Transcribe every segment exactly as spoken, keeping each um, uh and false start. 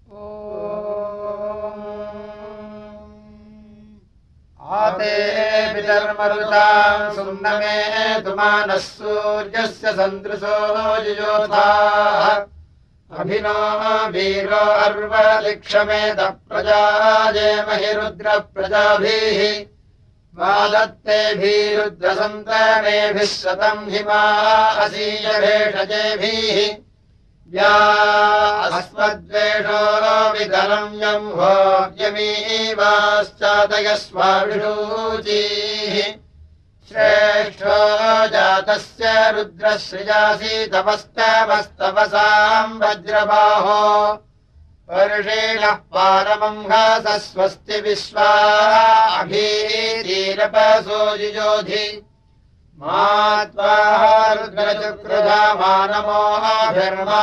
आते पितर्मरुताम् सुम्नमे तुमानः सूर्यस्य सन्दृशो युयोधाः अभिनो वीरो अर्वलिक्षमेत प्रजाजेमहि रुद्रप्रजाभिः वादत्तेभिरुद्रसन्तानेभिः शतम् हिमा असीयभेषजेभिः या अस्मद्वेषो विदलम् यम् भोग्यमीवाश्चादयस्वाभिषूचीः श्रेष्ठो जातस्य रुद्रश्रियासि तपस्तवस्तवसाम् वज्रबाहो वर्षेणः पारमंहासः स्वस्ति विश्वा अभीतीरपसो युजोधि मात्वाः रुद्रचक्रुधा मानमोऽभिर्मा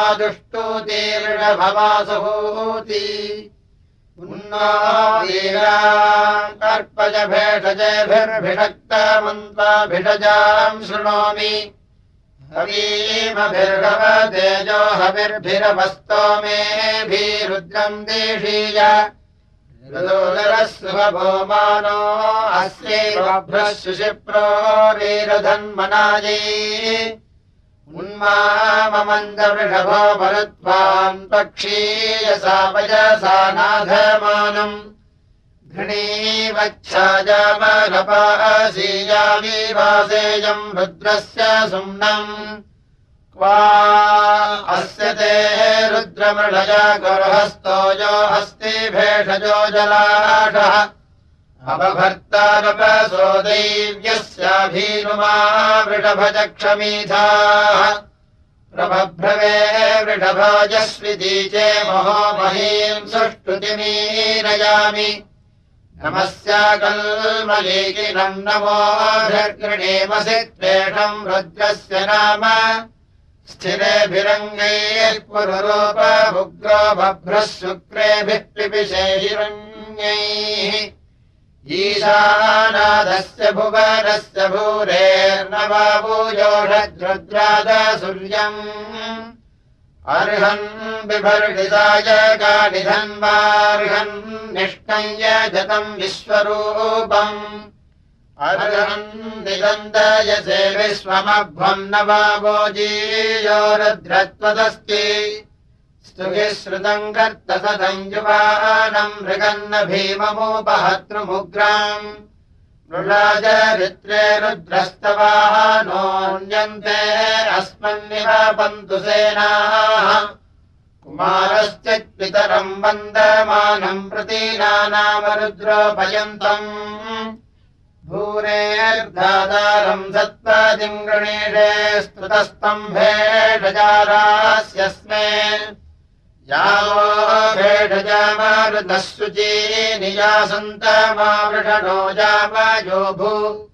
दुष्टुतीर्णभवासहूति उन्ना वीरान् कर्पज भेषजेभिर्भिषक्तमन्त्वाभिषजाम् शृणोमि हवीमभिर्भव तेजो हविर्भिरवस्तो मेभिरुद्रम् देशीय ऋदोदरः सुभभोमानो अस्यैवभ्रः शुशिप्रोरीरधन्मनायै उन्माममन्दवृषभो मरुत्वान् पक्षीयसा वजसा नाधमानम् घृणीवच्छाजामलपासीयाविवासेयम् रुद्रस्य सुम्नम् क्वा अस्य ते रुद्रमृळया गुर्हस्तोजो हस्ति भेषजो जलाढः अपभर्तारपसो दैव्यस्याभीनुमा वृषभजक्षमीधाः प्रभभ्रवे वृषभाजस्विदीचे महो महीम् सुष्टुतिमीरयामि नमस्याकल्मलीकिनम् नमोऽभिर्गृणीमसि त्वेषम् रुद्रस्य नाम स्थिरेभिरङ्गैः पुरुरूपभुग्रो बभ्रः शुक्रेभिः पिपिशे हिरण्यैः ईशानादस्य भुवनस्य भूरेर्नवाभूयोषद्रुद्रादसूर्यम् अर्हन् बिभर्षिताय गानिधन्वार्हन् निष्णय्य जतम् विश्वरूपम् अर्हन् दिगन्धयसे विश्वमभ्वम् नवाभोजीयो रुद्रत्वदस्ति स्तुभिः श्रुतम् कर्तसदम् युवानम् मृगन्न भीममुपहतृमुग्राम् मृळाजरित्रे रुद्रस्तवाः नोऽन्यन्ते अस्मन्निवापन्तु सेनाः कुमारश्चित्पितरम् वन्दमानम् प्रतीनानाम रुद्रोपयन्तम् भूरेर्धातारम् सत्पादिम् गृणीषे स्तुतस्तम्भेषजारास्यस्मे यावो भेषजामारुतः शुचीनियासन्तमावृषणो जावयो भू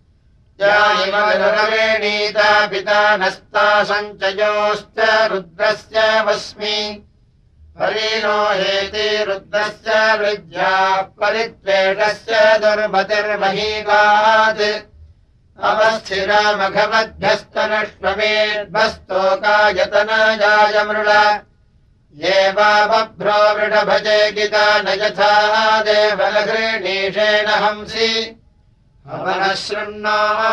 जायिमरुणवेणीता पिता नस्ता सञ्चयोश्च रुद्रस्य वस्मि हरिणो हेति रुद्रस्य विद्याः परित्वेषस्य दुर्मतिर्महीगात् अवस्थिरामघवद्भ्यस्तनश्वमेद्भस्तोकायतनजाय मृळ ये वा बभ्रो वृषभजे गिता न यथा देवलघृणीषेण हंसि हवनः शृण्णो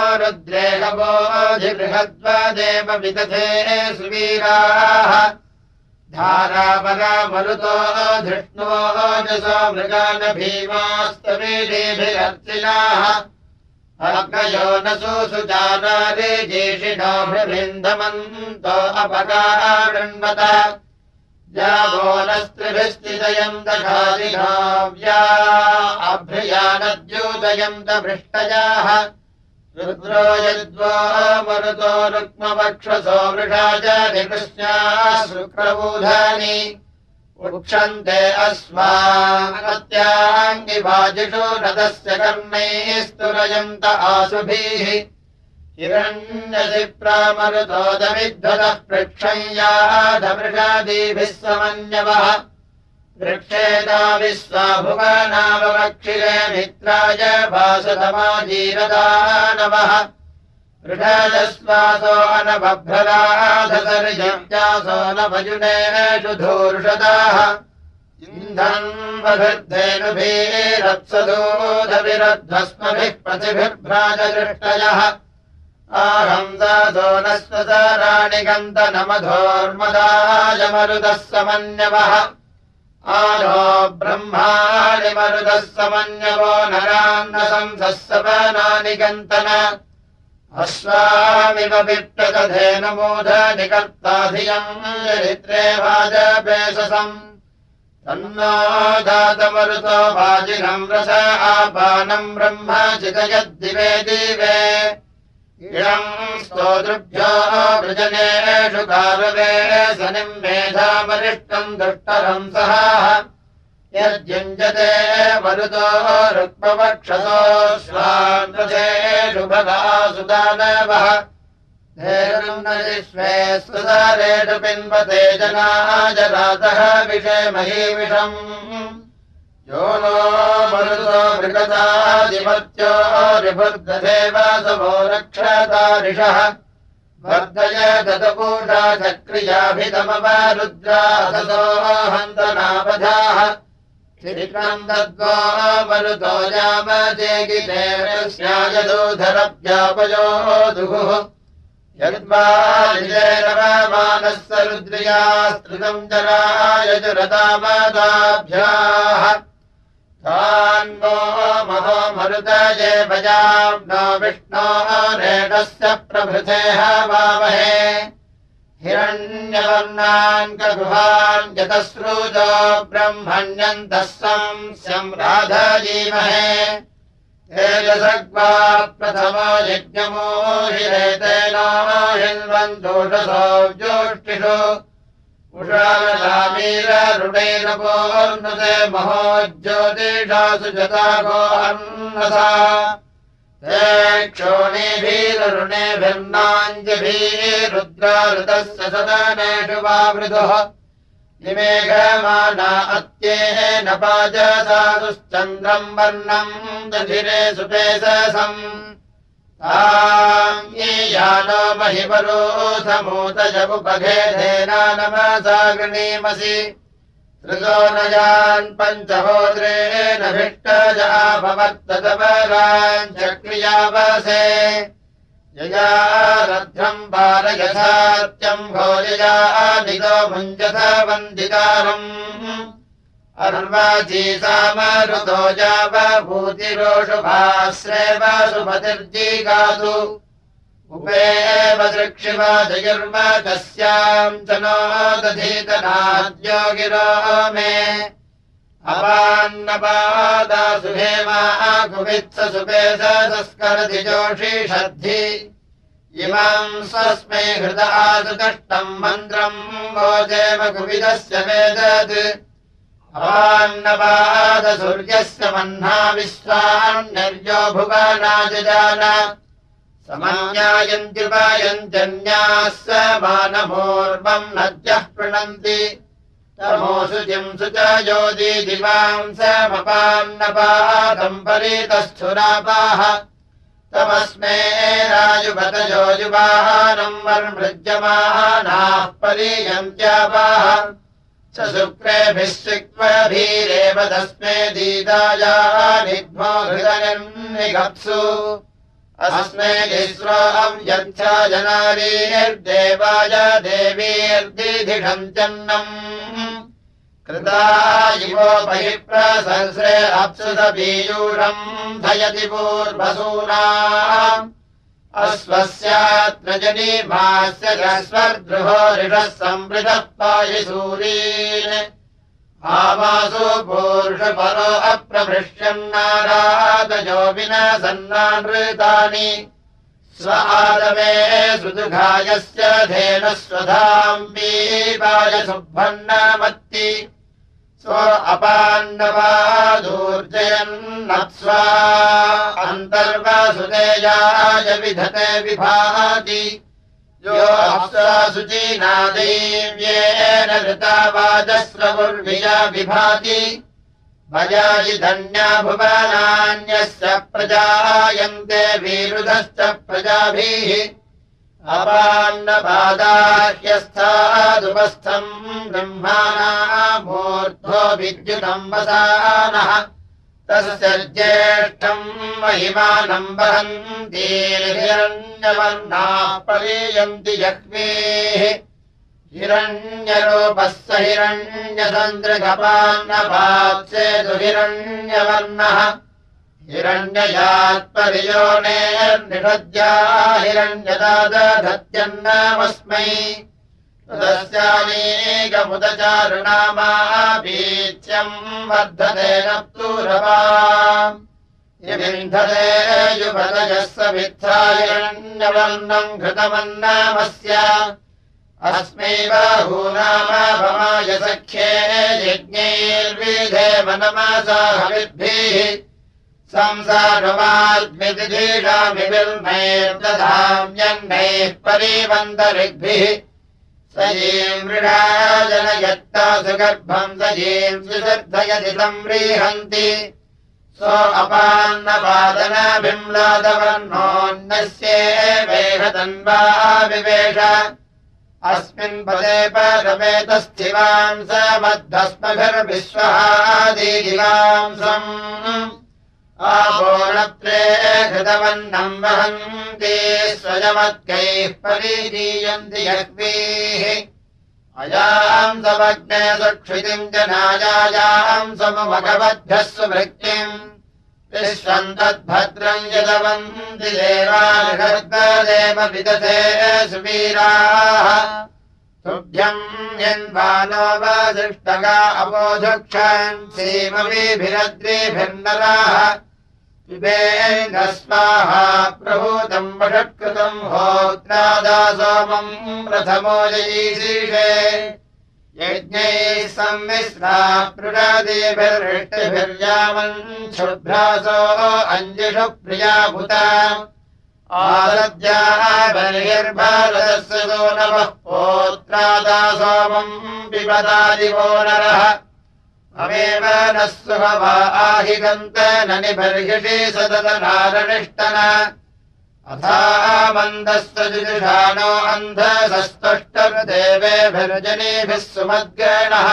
रुद्रेहवोऽधिबृहद्वदेव विदधे सुवीराः धारावरा मरुतो धृष्णो जसो मृगान भीमास्तवीभिरर्चिनाः अग्नयो न सुजानारे जेषिणो भृभिन्दमन्तो अपकारणवत जावो नस्त्रिभिस्तिदयन्त घादिघाव्या अभ्रियानद्यूदयन्त भृष्टजाः रुद्रो यद्वो मरुतो रुक्मवक्षसो वृषाज निकृष्णाः शुक्रबूधानि उक्षन्ते अस्माकत्याङ्गिवाजिषु नदस्य कर्णैः स्तुरयन्त आसुभिः हिरण्यसिप्रामरुतोदमिद्धतः पृक्षय्याधमृषादिभिः समन्यवः वृक्षेता विश्वाभुवनावक्षिरे मित्राय भासतमाजीरदानवः वृषजस्वासो अनबभ्रराधसर्जव्यासो न भजुनेषु धूर्षदाः इन्धन्वभिर्धेनुभिरप्सदूधविरध्वस्मभिः प्रतिभिर्भ्राजदृष्टयः आहंसादो न स्वसाराणि गन्तनमधोर्मदायमरुदः समन्यवः आनो ब्रह्माणि मरुदः समन्यवो नरान्न संसस्सवनानि गन्तन अश्वामिव विप्रकधेनुमूढ निकर्ताधियम् चरित्रे वाजपेशसम् तन्नो दातमरुतो वाजिनम् रस आपानम् ब्रह्म चितयद्दिवे दिवे इळम् स्तोतृभ्यो वृजनेषु कारवे सनिम् मेधामरिष्टम् दुष्टरम् सहाः यद्युञ्जते मरुतो रुक्मवक्षसो स्वान्द्रसेषु भगासु दानवः धेनुर्नरिष्वे सुसारेषु पिन्वते जनाजरातः विषेमहीविषम् यो नो मरुतो मृगतादिमत्यो रिभुर्दधेव सवो रक्षतारिषः वर्धय दतपूषा चक्रियाभितमवरुद्राससो हन्तनापधाः चित्रम् दद्वो मरुतो यामजेगितेरस्यायदूधरव्यापयोदुः यद्वानिजेरवमानस्य रुद्रियास्तृतम् जरायजुरतामदाभ्याः तान्वो महो मरुतये भजाम्नो विष्णो रेणस्य प्रभृतेः वामहे हिरण्यवर्णान् कगुहान् यतस्रुजो ब्रह्मण्यन्तः संस्यम् राधयीमहे तेजसग्वा प्रथमो यज्ञमोहिरेतेनो हिन्वन्तोषसो ज्योष्टिषु उषामीररुणैरपोर्नुते महो ज्योतिषासु जतागो अन्नसा ते क्षोणीभिररुणेभिर्नाञ्जभिरुद्राऋतस्य सदनेषु वावृतुः निमेघमाना अत्येन पाजसासुश्चन्द्रम् वर्णम् दधिरे सुपेशसम् ताम् ये यानो महिमरोधमूतजमुपघेधेना नमसा गृणीमसि त्रिजो नयान् पञ्चहोद्रेण भिष्टजाभवर्ततपराञ्चक्रियावसे यया रध्रम् पारयथात्यम् भोजया निदो भुञ्जथ वन्दितारम् अर्वाची सामरुतो जावभूतिरोषुभाश्रेव सुपतिर्जीगातु उपेव सृक्षिव जयुर्म कस्याम् च नो दधीतनाद्यो गिरो मे अपान्नपादासु हेमा कुवित्स सुपेशस्करति जोषिषद्धि इमाम् स्वस्मै हृदासु कष्टम् मन्त्रम् भोजेव कुविदस्य वेदत् अपान्नपादसूर्यस्य मह्ना विश्वान्यर्यो भुवनाजजान समन्यायन्त्युपायन्त्यन्याः समानमूर्वम् नद्यः पृणन्ति तमोऽशुचिम् शुचयो दिवाम् समपान्नपादम् परितस्थुरापाः तमस्मै राजुपतयो युवाहारम् वर्मृज्यमानाः परीयन्त्यापाः स शुक्रेभिः सिक्वभीरेव तस्मै दीदायानिध्मो हृदयन्निगप्सु अस्मै इस्रोऽम् यच्छा जनारीर्देवाय देवीर्दिधिषम् चन्नम् कृता इवोपहिप्रसंस्रे अप्सुतपीयूषम् धयति पूर्वसूना अश्वस्यात्र जनीमास्य जस्वर्दृहो ऋषः संवृतः पायिसूरीन् आमासु पूर्षपरो अप्रभृष्यन्नारादयो विनसन्नानृतानि स्व आदमे सुदुघायस्य धेनः स्वधाम् पीपाय सुभ्रन्नमत्ति स्व अपान्नवादूर्जयन्नप्स्वा अन्तर्वसुतेयाय विधते विभाति यो अप्सुचीना दैव्येन ऋता वाजस्रवुर्विया विभाति भजायि धन्या भुवनान्यस्य प्रजायन्ते विरुधश्च प्रजाभिः अपान्नपादाह्यस्थादुपस्थम् ब्रह्माणा मूर्ध्वो विद्युतम् वसानः तस्य ज्येष्ठम् महिमानम् वहन्तीर्हिरण्यवर्णाः परीयन्ति जह्वीः हिरण्यरूपः स हिरण्यसन्दृगपान्नपात्सेतु हिरण्यवर्णः हिरण्ययात्परियोनेर्निषद्या हिरण्यदादधत्यन्नामस्मै तदस्यानेकमुदचारुणामापीच्यम् वर्धते नप्तूरवा यमिन्धते युभतजः समित्था हिरण्यवर्णम् घृतमन्नामस्य अस्मै बाहूनामाभमाय सख्ये यज्ञैर्विधेम नमसा हविर्भिः संसारमाद्मितिधीडामिर्मैर्दधाम्यन्नैः परीवन्तरिग्भिः सयीम् मृडा जनयत्ता सुगर्भम् सयीम् सुशर्धयति संव्रीहन्ति सो अपान्नपादनाभिम्लादवर्णोऽन्यस्येवेह तन्वा विवेश अस्मिन् पदे परमेतस्थिवाम् स मद्धस्मभिर्विश्वहादिवांसम् आपोणत्रे घृतवन्नम् वहन्ति स्वयमत्कैः परीरीयन्ति यह्वीः अयाम् सवग्ने सुक्षितिम् जनायायाम् समभगवद्भ्यः सुभृक्तिम् विश्वम् तद्भद्रम् यदवन्ति देवानिषद्देव विदधे सुवीराः तुभ्यम् यन्वानो वसिष्ठगा अपोधुक्षन् सीमवीभिरद्रिभिर्नराः पिबेन स्वाहा प्रभूतम् वषट्कृतम् होत्रादा सोमम् प्रथमो जयीशीषे यज्ञैः सम्मिश्रा पृषादिभिर्हृष्टिभिर्यामन् शुभ्रासो अञ्जिषु प्रियाभूता आरद्याः बर्हिर्भारतस्य सो नवः पोत्रादा सोमम् पिबतादिवो नरः अमेव नः सुहवा आहिगन्त न निबर्हिषि सदतनारनिष्टन अथा मन्दस्य जुजुषाणो अन्धसस्तुष्टदेवेभिर्जनेभिः सुमद्गणः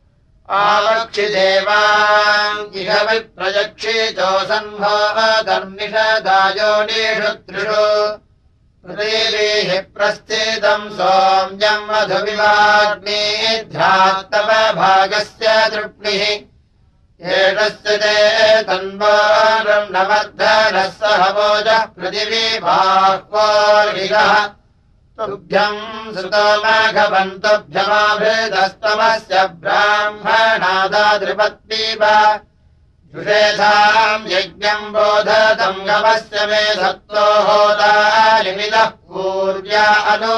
आवक्षिदेवाम् इह विप्रयक्षितोऽसन्भो धर्मिषदायोनिषु त्रिषु पृथिवीः प्रस्थितम् सोम्यम् मधुविवाग्निध्यात्तव भागस्य तृप्णिः एषस्य ते तन्वारम् न वर्धनः सहवोजः पृथिवी बाह्वोर्हिरः तुभ्यम् सुतोमघवन्तुभ्यमाभृतस्तमस्य ब्राह्मणादादृपत्पीब जुषेधाम् यज्ञम् बोधतम् गवस्य मे सत्तो होतानिमिदः पूर्व्या अनु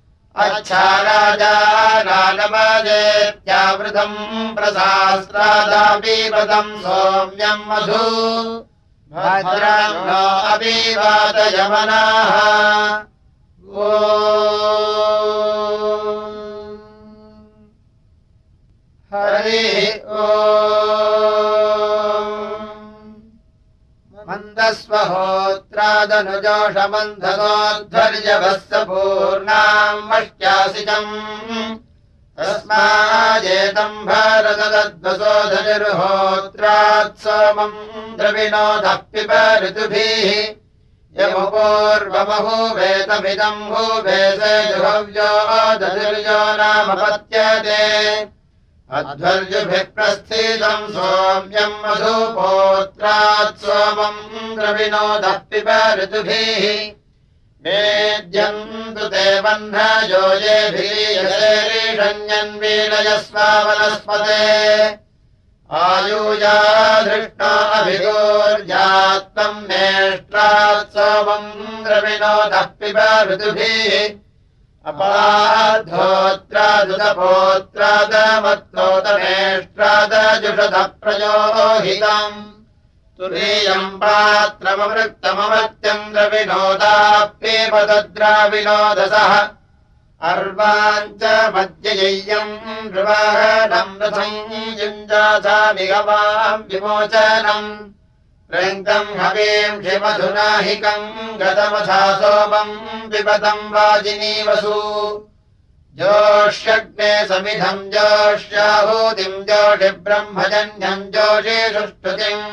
अच्छाराजानानमजेत्यावृतम् प्रसास्त्रादापीवतम् सोम्यम् मधु भद्रम् नो अभिवादयमनाः ओ हरिः ओ मन्दस्वहोत्रादनुजोषमन्धसोद्धर्यभस्य पूर्णाम् वष्ट्यासिजम् तस्माजेतम् भारतदद्वसोधनिर्होत्रात् सोमम् द्रविणोदः पिब ऋतुभिः यमुपूर्वमहूवेतमिदम् भूवेसे जुहव्यो दधिर्यो नामपत्यते अध्वर्युभिः प्रस्थितम् सोम्यम् मधुपोत्रात् सोमम् द्रविणोदः पिब ऋतुभिः मेद्यन्तु ते वह्नजो येभिरीयसेरीषण्यन्वीलयस्वावनस्पते आयूजा धृष्टा अभिगोर्जात्तम् मेष्ट्रात् सोमम् द्रविणोदः पिब ऋतुभिः अपाद्धोत्रादुतपोत्रादमत्तोतमेष्ट्रादजुषधः प्रयोहितम् तुरीयम् पात्रमवृक्तमवत्यम् द्रविणोदाप्येपदद्राविणोदसः अर्वाञ्च मध्यय्यम् नृवाहनम् रथम् युञ्जासामिगवाम् विमोचनम् प्रयन्तम् हवीम् क्षिमधुनाहिकम् गतमथा सोमम् पिबतम् वाजिनीवसु जोष्यग्ने समिधम् जोष्याहूतिम् जोषि ब्रह्मजन्यम् जोषि सुष्ठुतिम्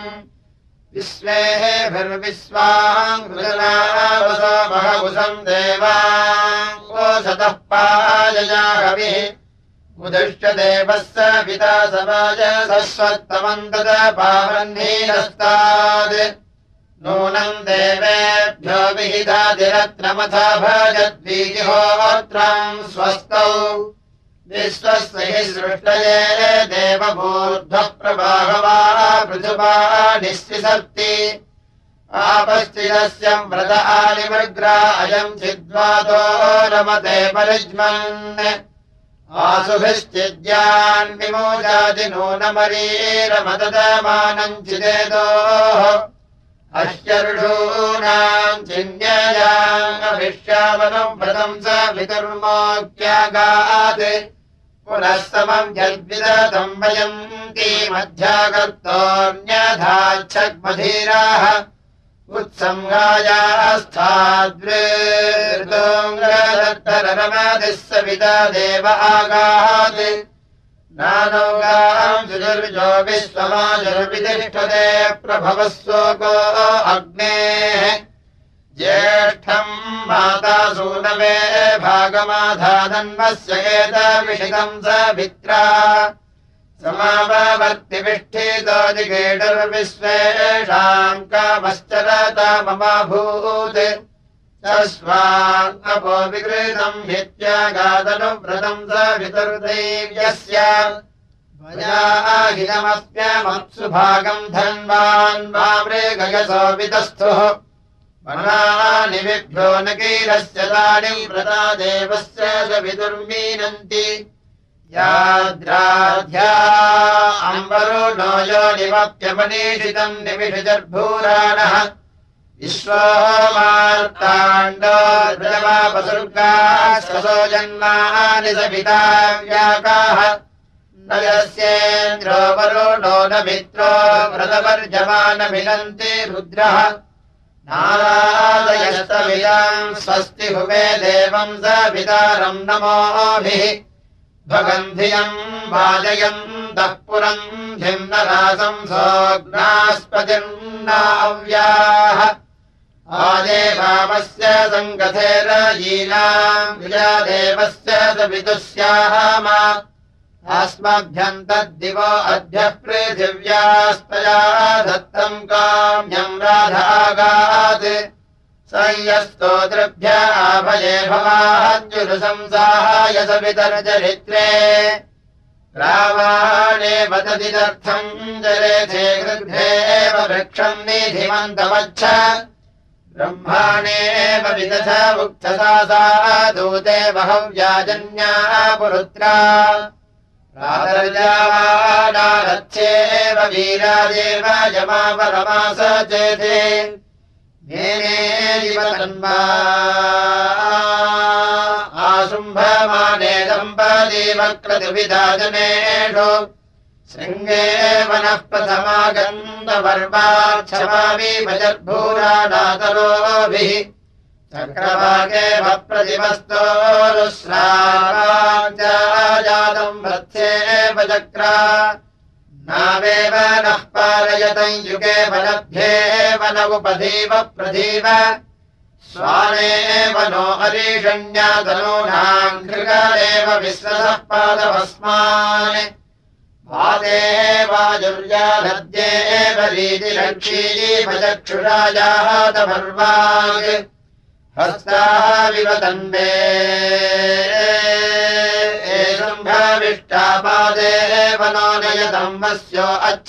विश्वेभिर्विश्वाङ्कृतनावसो महवुसम् देवाम् ओषतः पायया कविः मुदिष्ट देवस्य पिता समाज सस्वत्तमम् तद पावह्नीरस्तात् नूनम् देवेभ्यो विहितादिरत्नमथा भजद्वीजिहोत्रम् स्वस्तौ विश्वस्य हि सृष्टये देवभूर्ध्वः प्रभागवा पृथुवा निःसिसर्ति आपश्चिदस्य व्रत आलिमृग्रा अयम् चिद्वातो रमते परिज्मन् आसुभिश्चिद्यान् विमोजाति नूनमरीरमदमानम् चिदेदोः अश्चर्षूणाम् चिन्ययामभिष्यावनम् व्रतम् स वितुर्मोक्त्यागात् पुनः समम् यद्विदतम् वयन्ति मध्यागर्तोऽन्यथाच्छग्मधीराः उत्संगायास्थाद्वृतोऽङ्गदत्तररमादिः सविता देव आगात् नानौगाम् सुजुर्जो विश्वमाजुर्वितिष्ठते प्रभवः शोको अग्नेः ज्येष्ठम् माता सूनवे भागमाधानन्वस्य एतविषितम् सवित्रा समाववर्तिविष्ठितो जिगेटुर्विश्वेषाम् कामश्चरता ममाभूत् तस्मान्नपो विकृतम् हित्यागादनुव्रतम् सवितुर्दैव्यस्य वयाहिनमस्म्यमप्सु भागम् धन्वान् वामृगयसो वितस्थुः वनानि विभ्यो न कीरस्य तानि व्रता देवस्य सवितुर्मीनन्ति याद्राध्या अम्बरुणो योनिमप्यमनीषितम् निमिषजर्भूराणः विश्वोमार्ताण्डो द्रवापसुर्गाश्वसो जन्मानि सविता व्याकाः न यस्येन्द्रो वरुणो न मित्रो व्रतवर्जमानमिनन्ति रुद्रः नारादयस्तविदाम् स्वस्ति हुवे देवम् सवितारम् नमोभिः भगन्धियम् वाजयन्तः पुरम् धिम्नरासम् सोऽग्नास्पतिर्नाव्याः आदेवामस्य सङ्गथेरयीनाम् विजादेवस्य सवितुस्याम अस्मभ्यम् तद्दिवो अद्य पृथिव्यास्तया दत्तम् काम्यम् राधागात् संयस्तोतृभ्य आभये भवाञ्जुरुशंसाय सवितर्चरित्रे रावाणे वदतिदर्थम् जरेथे गृद्धेव वृक्षम् निधिमन्तमच्छ ब्रह्माणेव विदथ उक्थसा दूते बहव्याजन्या पुरुत्रा रातर्यावाडारथ्येव वीरादेव यमापरमास चेते मेनेरिव तन्वा आशुम्भमाने दम्पती वक्रतुविदाजनेषु शृङ्गे वनः प्रथमागन्धवर्वाक्षमाविभजर्भूराणातरोभिः चक्रवाके भप्रतिमस्तोरुश्रावाञ्जातम् वत्सेव चक्रा नावेव नः पारयतम् युगे वनभ्येव न उपधीव प्रधीव स्वानेव नो हरीषण्यातनूनाम् कृगारेव विश्वसः पादभस्मान् वादेव वाजुर्याधद्येव रीतिलक्षीव चक्षुषायातभर्वाग् हस्ताविव तन्वे एषम्भविष्टापादेव नो नयतम् वस्यो अच्छ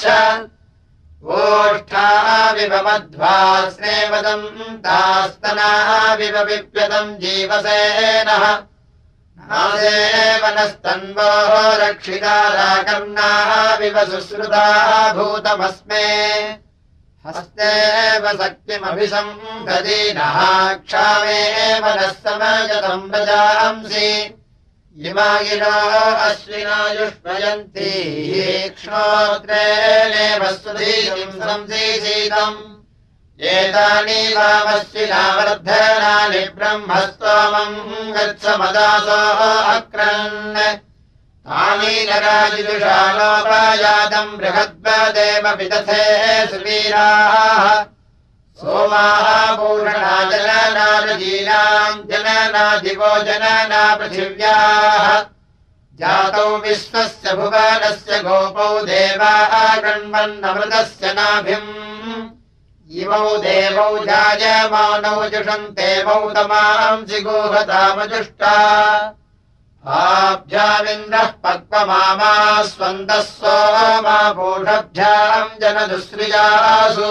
ओष्ठाविव मध्वा स्नेवदम् तास्तनाविव विप्यतम् जीवसेनः नादेव नस्तन्वोः रक्षिताराकर्णाविव शुश्रुता भूतमस्मे हस्तेव शक्तिमभिसम्भदीनः क्षामेव नः समयतम् रजांसि इमागिनो अश्विना युष्मयन्ति क्ष्णोत्रेणेव सुधीतिम् संसीसीतम् एतानि वामश्विना वर्धनानि ब्रह्मस्तोमम् गच्छमदासो अक्रन् तानि नराजिदुषालोपायातम् बृहद्वदेव विदथे सुवीराः सोमाः पूषणा जनना रजीनाम् जनना दिवो जनना पृथिव्याः जातौ विश्वस्य भुवनस्य गोपौ देवाः गृह्णन्नमृतस्य नाभिम् इमौ देवौ जायमानौ जुषन्ते मौतमांसि गोहतामजुष्टा आभ्यामिन्द्रः पक्वमामा स्वन्तः सोमा पूषभ्याम् जनदुश्रियासु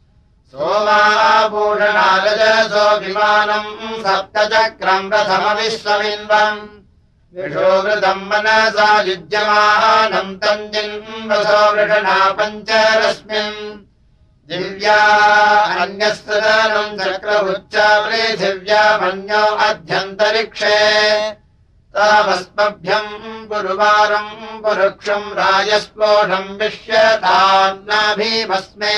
सोमापूषणारजसो विमानम् सप्तचक्रम् रथमविश्वमिन्वम् विषोवृतम् मनसा युज्यमानम् तम् जिन्वसो वृषणा पञ्चरश्मिन् दिव्या अन्यस्तदानम् चक्रवृच्चा पृथिव्यामन्यो अध्यन्तरिक्षे तावस्मभ्यम् गुरुवारम् पुरुक्षम् राजस्पोषम् विश्यतान्नाभीमस्मे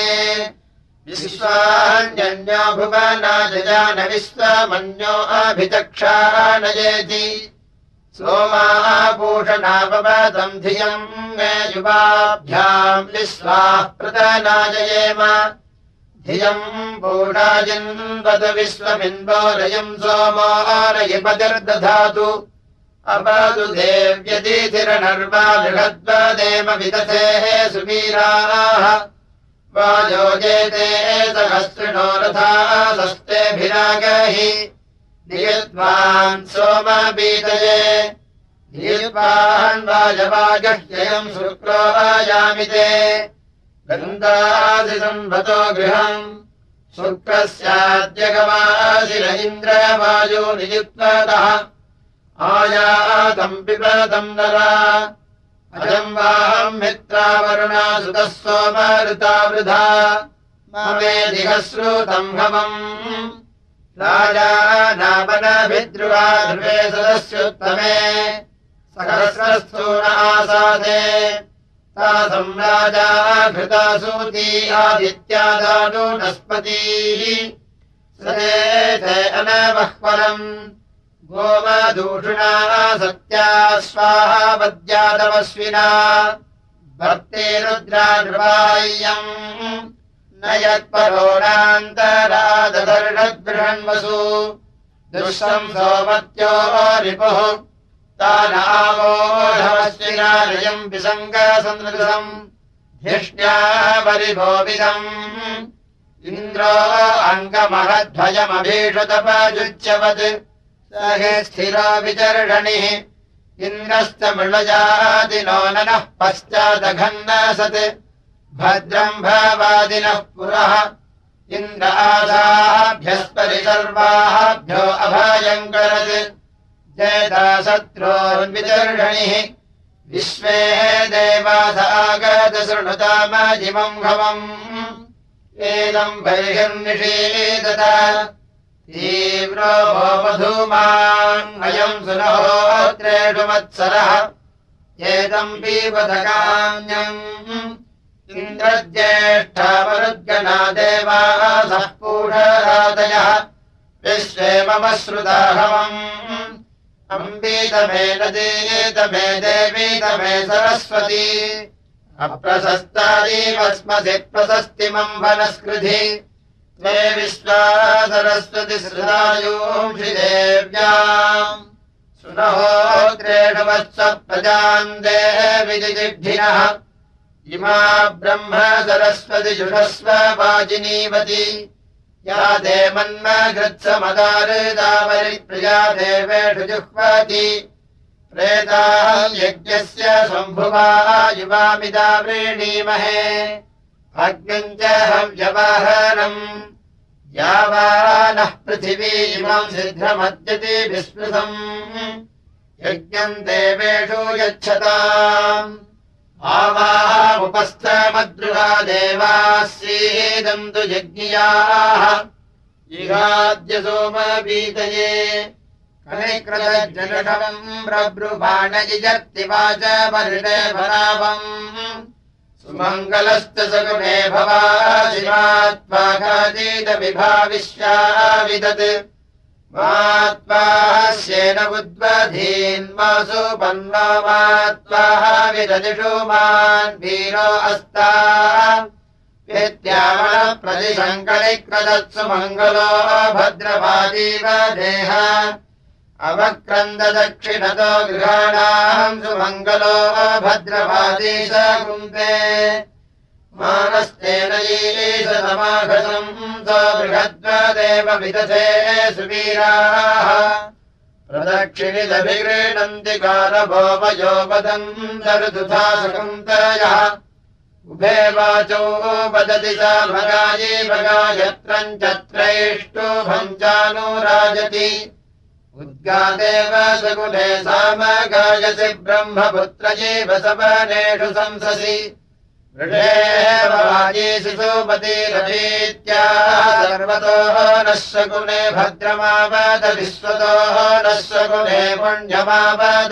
विश्वान्यो भुवनाजजान विश्वमन्यो अभिचक्षानयेति सोमापूषणापवतम् धियम् मे युवाभ्याम् विश्वाः प्रतनाजयेम धियम् पूषाजिन्वत विश्वमिन्वोरयम् सोमो रयिपतिर्दधातु अपदु देव्यतिथिरनर्वा बृहद्वदेव विदथेः सुवीराः वाजोजेते सहस्रिणो रथा सस्तेभिरागहि नियद्वान् सोमबीतये नियद्वान् वाजवागह्ययम् शुक्रो आयामिते गन्धासि संवतो गृहम् शुक्रस्याद्यगवासिर इन्द्रवायो नियुक्ततः आयातम् पिबतम् नरा अजम् वाहम् मित्रावरुणा सुतः सोमऋता वृधा ममेधिहश्रुतम् हवम् राजानामनभिद्रुवा ध्रुवे सदस्युत्तमे सहस्रस्थून आसादे तासम् राजा घृता सूती आदित्यादानु नस्पतीः सदेते अनवह्वरम् गोमदूषणा सत्या स्वाहा वद्यादवस्विना भक्ति रुद्रा नृपाय्यम् न यत्परोणान्तरादधर्षद्बृहन्वसु दुःशम् सोमत्यो रिपुः तानावोढवस्विनारयम् विसङ्गसन्दृशम् धिष्ण्या परिभोविदम् इन्द्रो अङ्गमहद्भयमभीषतपजुच्यवत् सहे स्थिरो विचर्षणिः इन्द्रस्तमृळजादिनो ननः पश्चादघन्नसत् भद्रम् भवादिनः पुरः इन्द्र आसाभ्यस्परि सर्वाभ्यो अभयङ्करत् जयता शत्रोर्विचर्षणिः विश्वे देवासागत शृणुतामजिमम् घवम् एदम् बर्हिर्निषेदत तीव्रो मधूमान् अयम् सुनहोत्रेषु मत्सरः एतम् पीपथकान्यम् इन्द्रज्येष्ठावरुद्गणा देवासः पूषरादयः विश्वे मम श्रुताहवम् अम्बीतमे नदीतमे देवीतमे सरस्वती अप्रशस्तारीवस्मसि प्रशस्तिमम् वनस्कृधि त्वे विश्वा सरस्वति सृजायूंषि देव्याम् सुनहोत्रेषु वत्स प्रजाम् देवि जिजिह्निनः इमा ब्रह्म सरस्वति जुषस्व वाजिनीवती या ते मन्मघृत्समदारुदावरिप्रिया देवेषु जुह्वति प्रेताम् यज्ञस्य सम्भुवा युवामिदा व्रीणीमहे अग्निम् च हव्यवाहनम् यावानः पृथिवी इमम् सिद्धमद्यति विस्मृतम् यज्ञम् देवेषु यच्छताम् आवामुपस्थमद्रुहा देवाः सीदन्तु यज्ञियाः इहाद्य सोमवीतये कनिकृतजनकम् प्रब्रुवाण जिजर्ति वाच परिणे भरावम् सुमङ्गलश्च सगुणे भवाजिमात्माघातीतविभाविश्या विदत् मात्वास्येन उद्वधीन्मासु पन्नो मात्वाः विददिषु मान् वीरो अस्ता विद्यामणप्रतिशङ्करिक्रदत्सु मङ्गलो भद्रवादीव देह अवक्रन्ददक्षिणतो गृहाणाम् सुमङ्गलो भद्रवादीश कुन्ते मानस्तेन ईशतमाघसम् स बृहद्वदेव विदधे सुवीराः प्रदक्षिणिदभिगृह्णन्ति कारभोवयो वदम् दरुदुधा सकुन्तयः उभे वाचो वदति सा भगायि भगायत्रम् चत्रैष्टुभम् चानुराजति उद्गादेव सकुले सामगायसि ब्रह्मपुत्र जीव सवनेषु संससि वृषेव वाजीसि सुमतिरभीत्या सर्वतोः नः शकुने भद्रमावद विश्वतोः नः शकुने पुण्यमावद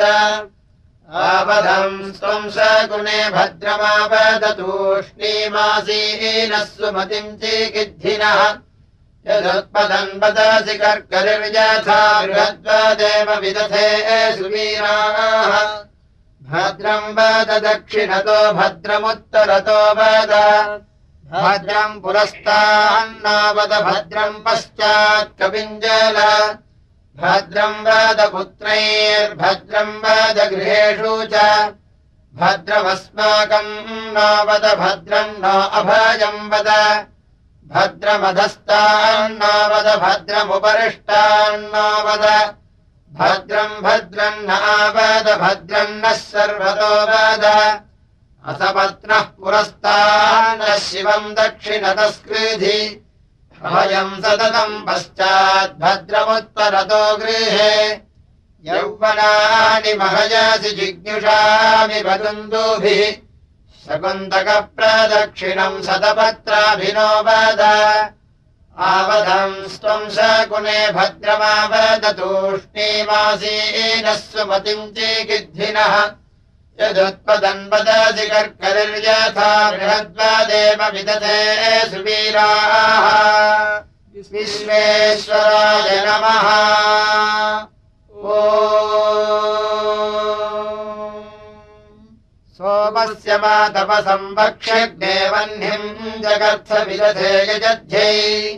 आवधम् त्वम् शकुने भद्रमावद तूष्णीमासीनः सुमतिम् चिकिद्धिनः यदुत्पदन् वदसि कर्करिर्यथा बृहद्वदेव विदधे सुवीराः भद्रम् वद दक्षिणतो भद्रमुत्तरतो वद भद्रम् पुरस्तान्न वद भद्रम् पश्चात् कविञ्जल भद्रम् वद पुत्रैर्भद्रम् वद गृहेषु च भद्रमस्माकम् न वद भद्रम् न अभयम् वद भद्रमधस्तान्न वद भद्रमुपरिष्टान्न वद भद्रम् भद्रम् नावद भद्रम् नः सर्वतो वद असपत्नः पुरस्तान्नः शिवम् दक्षिणतस्कृधि अभयम् सततम् पश्चात् भद्रमुत्तरतो गृहे यौवनानि महयसि जिज्ञुषामि वदन्तुभिः शकुन्तकप्रदक्षिणम् शतपत्राभिनो वद आवधम् त्वम् शकुने भद्रमावद तूष्णीमासीनः सुमतिम् चिकिद्धिनः यदुत्पदन् वदसि कर्करिर्यथा बृहद्वदेव विदधे सुवीराः विश्वेश्वराय नमः ॐ सोमस्य मातपसंवक्ष्यग्ने वह्निम् जगर्थ विदधे यजध्यै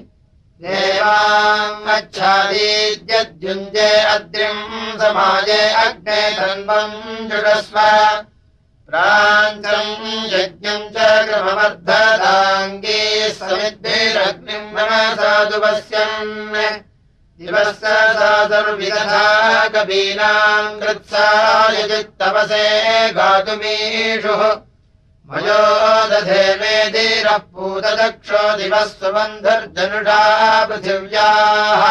देवाङ्गच्छादीद्यद्युञ्जे अद्रिम् समाजे अग्ने धन्वम् जुषस्व प्राञ्चम् यज्ञम् च कृमवर्धदाङ्गी समिद्भिरग्निम् नमसाधुपश्यन् दिवः साधुर्विदधा कवीनाम् कृत्सायजित्तवसे गातुमीषुः मयो दधे मेधिरः पूतदक्षो दिवः सुबन्धुर्जनुषा पृथिव्याः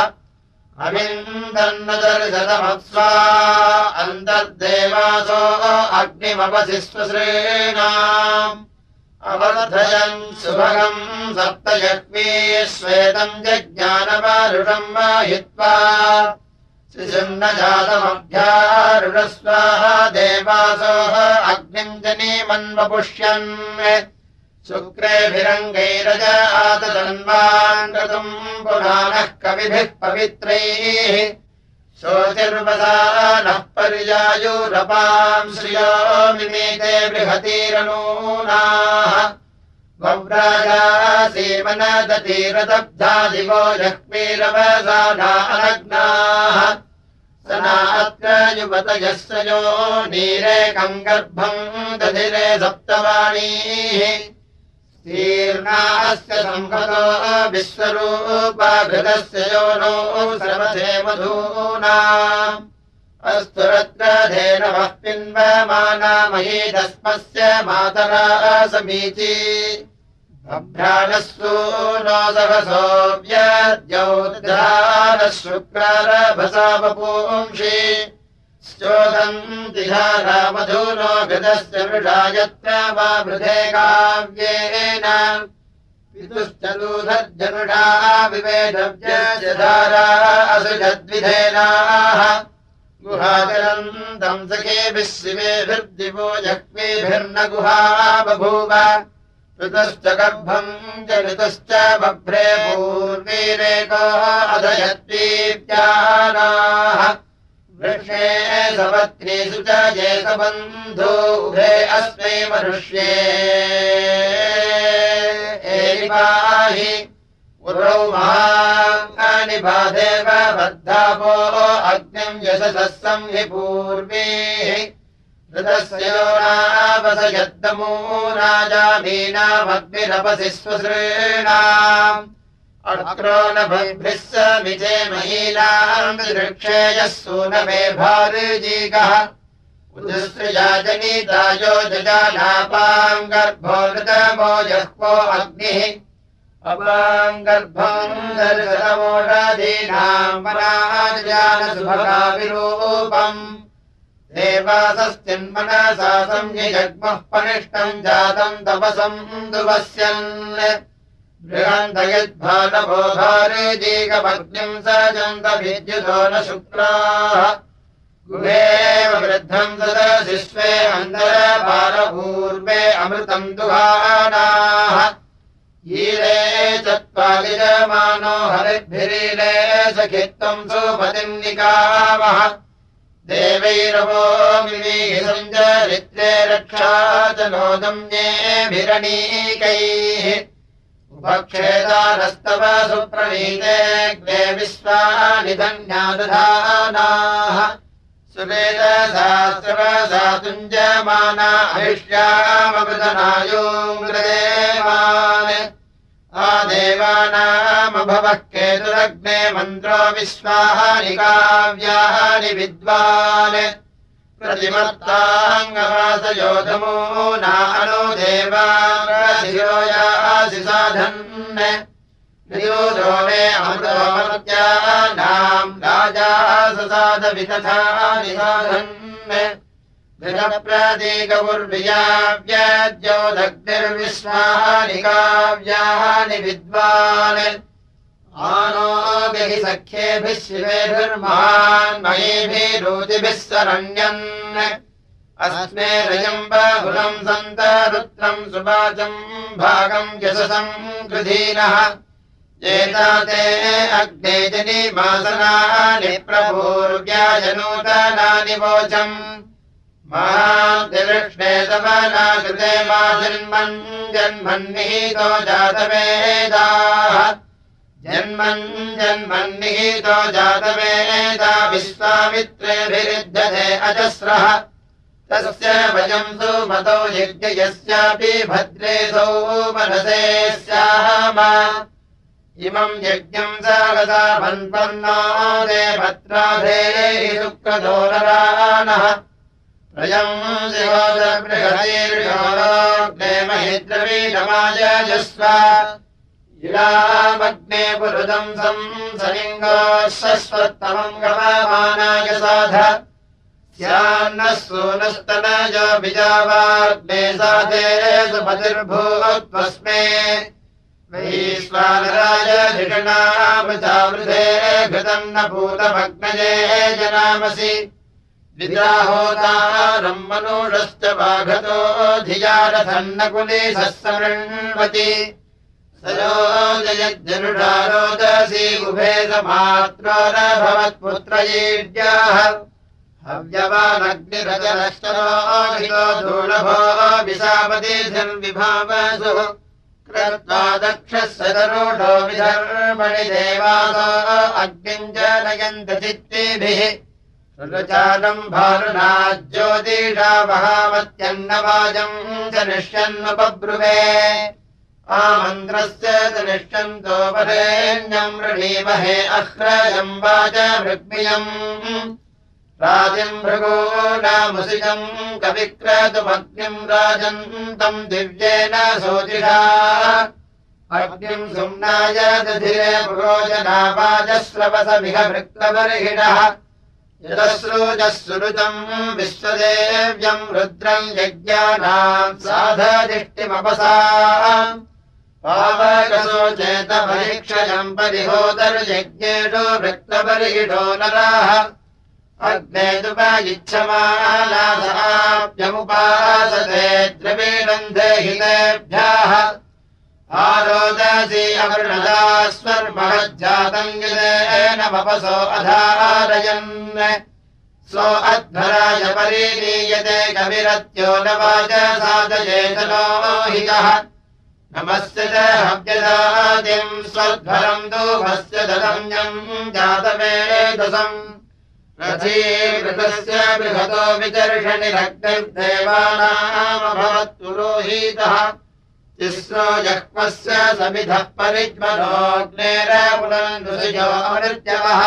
अविन्दन्नदर्शतमप्स्वा अन्तर्देवासो अग्निमपसि स्वश्रेणाम् अवर्धयन् सुभगम् सप्तयक्ष्मी श्वेतम् जज्ञानमारुषम् माहित्वा शिशुम् न जातमभ्यारुणस्वाहा देवासोः अग्निम् जनीमन्वपुष्यन् शुक्रेभिरङ्गैरज आततन्वान् क्रतुम् पुराणः कविभिः पवित्रैः शोचिर्वसानः पर्यायुरपाम् श्रियो मिमीते बृहतीरनूनाः वव्राजासीमनदतीरदब्धा दिवो जह्मीरवसाना अनग्नाः सनात्र युवतयस्य यो नीरेकम् गर्भम् दधिरे सप्तवाणीः तीर्णास्य संहतो विश्वरूपाघृतस्य यो नो श्रवसे मधूना अस्तु रत्रधेनवः पिन्वमाना महीदस्मस्य मातरा समीची अभ्राणः सूनो सहसोऽव्यद्यौद्धारः शुक्रारभसा वपुंषि चोदन्ति धारा मधुनो घृतस्य वृषा यत्र वा वृधे काव्येन पितुश्च दूधर्जनुषा विवेदव्यस्य धारा असृजद्विधेनाः गुहाचरन्तम् सखेभिः शिवेभिर्दिवो जह्वेभिर्न गुहा बभूव ऋतश्च गर्भम् च ऋतश्च बभ्रे पूर्वीरेको अधयद्वीप्यानाः वृक्षे सपत्नीषु च ये सबन्धो उभे अस्मै मनुष्ये एरिपाहि उरौ महानि बाधेव बद्धापो अग्निम् यशसः संहि पूर्वीः ऋतस्य यो नावसयद्दमो राजामीनामग्निरपसि स्वसॄणाम् अक्रोनभद्भिः समिजे महीनाम् वृक्षेयः सूनवे भारुजीगः उदुसृजा जनितायो जजानापाम् गर्भो ऋतमो जह्वो अग्निः अपाम् गर्भम् दर्शनमोषधीनाम् वनाजानसुभगाविरूपम् देवासस्तिन्मनसा संयजग्मः पनिष्टम् जातम् तपसम् दुवस्यन् बृहन्तयद्भानभो भारुजीगमग्निम् सजन्त विद्युतो न शुक्राः गुहेव वृद्धम् सदसि स्वे अन्तरपारपूर्वे अमृतम् दुहानाः ईले चत्वारिजमानो हरिद्भिरीले सखित्वम् सुपतिम् निकामः देवैरवो मिमीसञ्चरित्रे रक्षा च नोदम्येभिरणीकैः उपक्षेदानस्तव सुप्रणीतेऽग्ने विश्वानि धन्यादधानाः सुवेदशास्त्रवसा तुञ्जमाना अहिष्यामृतनायोङ्ग्रदेवान् आदेवानामभवः केतुरग्ने मन्त्रो विश्वानि काव्यानि विद्वान् प्रतिमत्ताङ्गवासयोधमो नानो देवाशिरोयासि साधन् नियोजो मे अमृतोमर्त्यानाम् राजा ससाधवितथानि साधन् गृहप्रतीकपुर्वियाव्याज्यो दग्निर्विश्वानि काव्यानि विद्वान् आनो हि सख्येभिः शिवेभिर्महान् महीभिरूतिभिः सरण्यन् अस्मे रजम् बहुलम् सन्त रुद्रम् सुवाचम् भागम् यशसम् कृधीनः एताते अग्ने जनिमासनानि प्रभूर्व्याजनूतनानि वोचम् महान्तिलक्ष्मे तवना कृते मा जन्मन् जन्मन्निहितो जातवेदाः जन्मन् जन्मन्निहितो जातवेदा विश्वामित्रेभिरुध्यते अजस्रः तस्य वयम् सुमतौ यज्ञयस्यापि भद्रेसौ मनसे स्याम इमम् यज्ञम् सहसा भन्पन्नो दे भद्राधेहि शुक्रधोररानः प्रयम् शिवोदबृहतीर्षोरोग्ने महिद्रवीणमायजस्व इलामग्ने पुरुदम् संसलिङ्गोः शश्वत्तमम् गममानाय साध स्यान्नः सूनस्तनयो बीजावाग्ने साधे सुपतिर्भूत्वस्मे वैश्वानराय धिषणामृतावृधे घृतम् न भूतमग्नये जनामसि विद्राहोतारम् मनुषश्च वाघतो धियारथन्नकुलीसः समृण्वति स यो जयज्जनुषा रोदसी उभे समात्रो न भवत्पुत्रयीड्याः हव्यवानग्निरजनश्चरो हितो दूलभो विशापतिर्विभावसु कृत्वा दक्षः सदरूढो विधर्मणि देवासो अग्निम् जनयन्त चित्तिभिः सुरचालम् भारुणा ज्योतिषा वहामत्यन्नवाजम् च निष्यन्नुपब्रुवे आमन्त्रस्य च निष्यन्तो वरेण्यम् वृणीमहे अह्रयम् वाचमृग्मियम् राजिम् भृगूनामुसिजम् कविक्रतुमग्निम् राजन्तम् दिव्येन सोजिषा अग्निम् सुम्नाय दधिरे पुरोजनावाजस्रवसमिह भृक्तबर्हिणः यदश्रूजः सुरुजम् विश्वदेव्यम् रुद्रम् यज्ञानाम् साधदिष्टिमपसा पावकसो चेतपरीक्षयम् परिहोदर्यज्ञेषु भृक्तबर्हिषो नराः अग्नेदुपगिच्छमानासाभ्यमुपासते द्रवीणम् देहितेभ्यः आरोदसी अवृणदास्वर्महज्जातम् यदेन वपसो अधारयन् सो अध्वराय परीनीयते कविरत्यो न वाजसादये तनोहितः नमस्य च हव्यदादिम् स्वध्वरम् दूभस्य ददम्यम् जातवेदसम् रथीवृतस्य बृहतो विचर्षणिरग्निर्देवानामभवत्पुरोहितः तिस्रो जह्वस्य समिधः परिज्मनोऽग्नेरपुनन्दुषिजो अमृत्यवः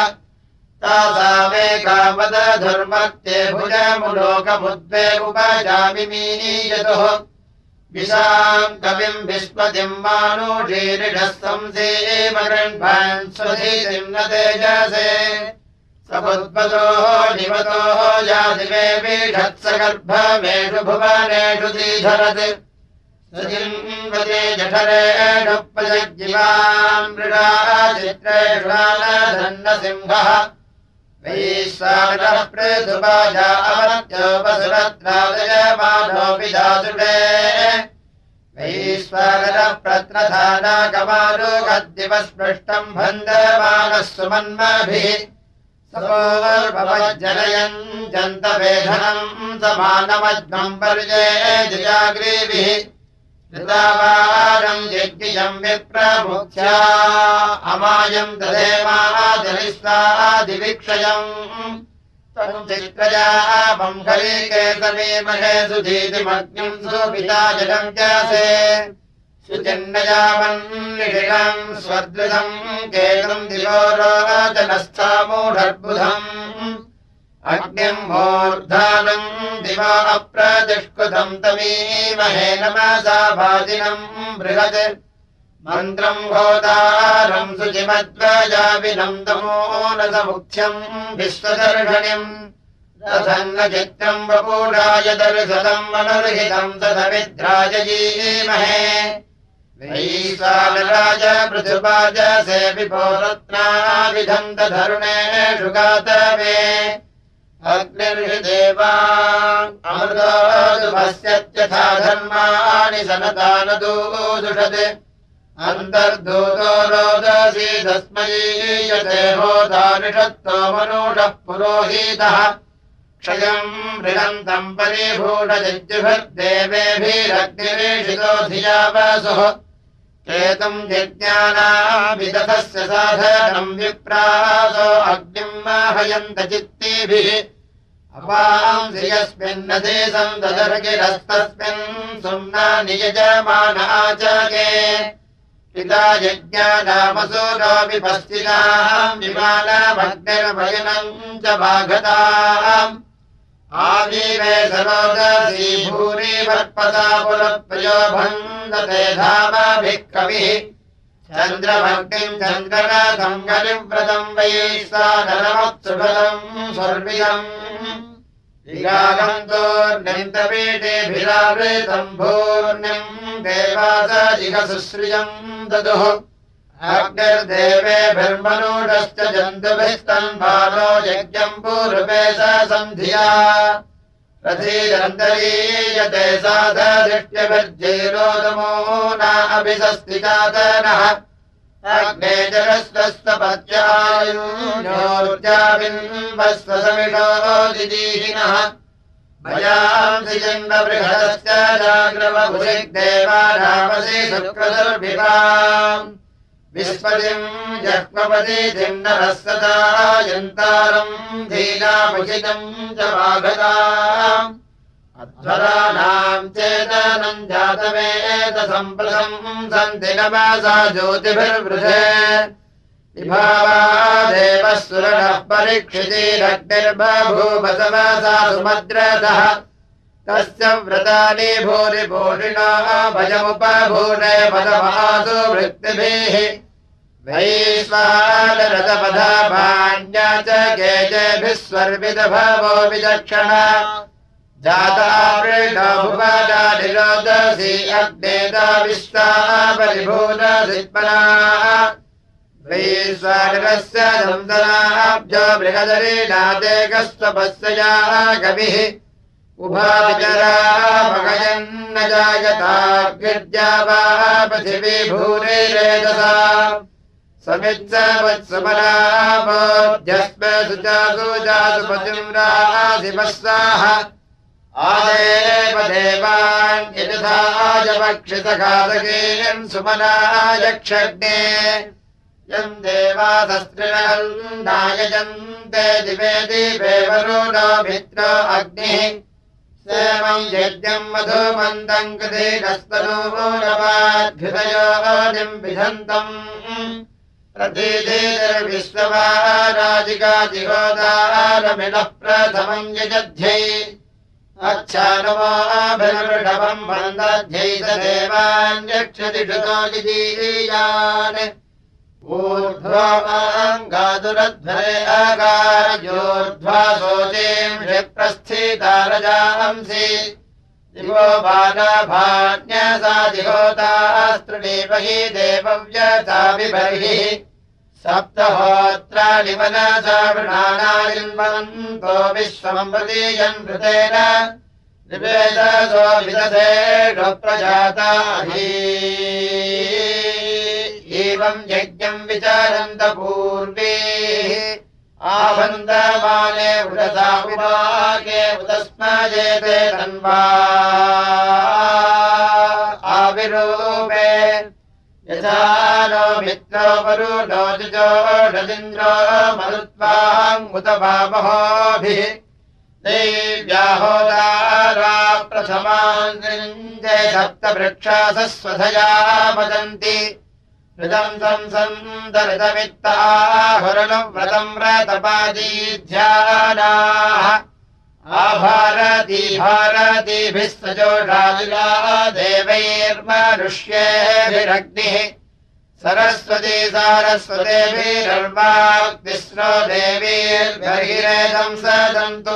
तासामेकावदधर्मत्ये भुजमुलोकमुद्वे उपजामिमीयतुः विशाम् कविम् विस्पतिम् मानुषीरिषः संसेमगृह्णान् स्वधीतिम् न तेजसे समुद्वतोः निवतोः यादिवे वीषत्सगर्भमेषु भुवनेषु दीधरत् सजिन्वते जठरेषु प्रजज्जिवान् मृडा चित्रेषु नालधन्नसिंहः वैश्वानरः पृथुवाजा अमर्त्योपसुरत्रादयमानोऽपि दातुडे वैश्वानरः प्रत्रधानाकमारुगद्दिवस्पृष्टम् भन्दमानः सुमन्मभिः सपोर्भवज्जनयन् जन्तवेधनम् समानमध्वम् पर्येजयाग्रीभिः ऋतावारम् यज्ञियम् विप्रमुख्या अमायम् दधेमादिविक्षयम् तम् चित्रजापम् हरिकेतमीमहे सुधीतिमग्निम् सुपिता जलम् जासे सुचिन्नयामन्निषिणम् स्वदृतम् केतुम् दिवोरोचनस्थामूढर्बुधम् अग्निम् मूर्धानम् दिवा अप्रतिष्कृतम् तमीमहे नमसा भाजिनम् बृहत् मन्त्रम् होतारम् शुचिमध्वजाविनम् तमोनसमुख्यम् विश्वदर्शनिम् रथन्न चित्रम् वपूढाय दर्शनम् मनुर्हितम् तदविद्राजयीमहे वैश्वानराज पृथुवाज सेविभो रत्नाभिधन्तधरुणेषु गातवे अग्निर्देवा अमृतोऽपश्यत्यथा धर्माणि सनतानदूषत् अन्तर्धूतो रोदसी तस्मै यते होतानिषत्तो मनुषः पुरोहितः क्षयम् मृगन्तम् परिभूषजिज्जुभिर्देवेभिरग्निरीषितो धिया वसुः केतुम् यज्ञानाभिदधस्य साधनम् विप्रासो अग्निम् माहयन्त चित्तिभिः अपांसि यस्मिन्नदे सन्ददर्गिरस्तस्मिन् सुम्ना नियजमान आचगे पिता यज्ञानामसूरापि पश्चिदाम् विमानमग्निर्वयनम् च वाघताम् आवीवे सरोदसी भूरि वर्पसा पुरप्रयो भन्दते धामाभिः कविः चन्द्रमग्निम् चन्द्रनाथम् गलिव्रतम् वैश्वानरमत्सुभदम् स्वर्विदम् विरागन्तोर्निन्तपीठेभिरावृतम् भूर्णिम् देवासजिह सुश्रियम् ददुः अग्निर्देवेभिर्मनुषश्च जन्तुभिस्तन्भानो यज्ञम् पूर्वे स सन्धिया रथीरन्तरीयते साधधिष्ट्यभिर्जैरोदमो न अभिसस्तिकातनः अग्ने जलस्वस्तपत्यायुर्जाबिन्वस्व समिषो दिदीहिनः भयांसि जन्मबृहदश्च जाग्रवभुरिग्देवानामसि शुक्रदुर्भिवाम् विस्पतिम् जह्मपतिथिम् नरः सदा यन्तारम् धीनामुचितम् च वाघताम् अध्वराणाम् चेतनम् जातवेदसम्प्रसम् सन्ति नमसा ज्योतिभिर्वृधे विभावा देवः सुरनः परीक्षितिरग्निर्बभूवसवसा सुमद्रतः तस्य व्रतानि भूरि भूषिणा भजमुपभूने पदमासु वृत्तिभिः वैश्वानरथपदाभाण्या च केजेभिः स्वर्विदभवो विचक्षणा जाता वृषा भुवना निरोदसी अग्नेता विश्वा परिभूनसित्मना वैश्वानरस्य दन्दनाब्जो बृहदरीनादेकस्वपस्यया कविः उभावितरा भगयन्न जायताग्र्या वा पृथिवी भूरिरेदसा समित्सवत्समराबोध्यस्म सुजासु जासु पतिम्रासिवस्साः आदेव देवान् यजथाजपक्षितघातकेयन् सुमनायक्षग्ने यम् देवासस्त्रिणन्नायजन्ते दिवे दिवे वरुणो मित्रो अग्निः सेवम् यज्ञम् मधुमन्दम् कृधीनस्तनूनवाद्भृतयोनिम् विधन्तम् प्रतीतिर्विश्ववाराजिकाजिहोदारमिनः प्रथमम् यजध्यै अच्छानवाभिर्वृषभम् वन्दध्यै स देवान्यक्षति श्रुतो यजीयान् ऊर्ध्वाङ्गादुरध्वरे अकारयोर्ध्वा शोचीम् क्षिप्रस्थिता रजांसि दिवो बालाभान्यसादिहोतास्त्रिणीपहि देवव्यता विबर्हिः सप्तहोत्राणि मनसा वृणानायन्वन्तो विश्वम् प्रतीयन् कृतेन निवेदसो विदधेषु प्रजाताहि एवम् यज्ञम् विचारन्त पूर्वेः आवन्दमाने उदसा उपाके उदस्मजेते तन्वा आविरूपे यथा नो मित्रो वरुणो जुजोषदिन्द्रो मरुत्वाङ्मुत वामहोभिः देव्याहोदारा प्रथमान् सप्तवृक्षासः स्वधया वदन्ति हृदम् संसन्दरितमित्ताहुरणव्रतम् व्रतपादीध्यानाः आभारती भारतीभिः सजोषादिला देवैर्मनुष्येभिरग्निः सरस्वती सारस्वतेभिरर्वाग्निस्रो देवीर्बहिरेदम् सदन्तु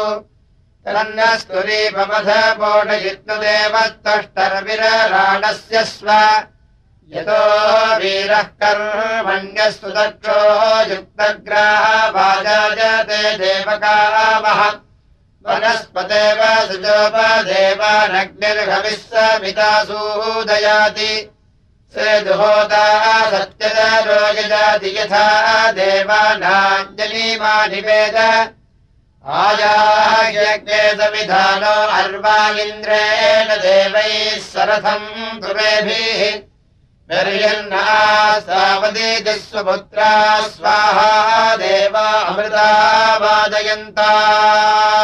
तन्नस्तुरीपमथपोषयित्नुदेवत्तष्टरविरराणस्य स्व यतो वीरः कर्मण्यस्तु दक्षो युक्तग्राहवाजायते देवकामः वनस्पतेव सुजोपदेवानग्निर्हविः समिता सूदयाति सेदुहोता सत्यदरो यजाति यथा देवानाञ्जलिमा निवेद आयाज्ञे सविधानो अर्वा इन्द्रेण देवैः सरथम् तुमेभिः निर्यन्ना सावदीतिः स्वपुत्रा स्वाहा देवा अमृता वादयन्ता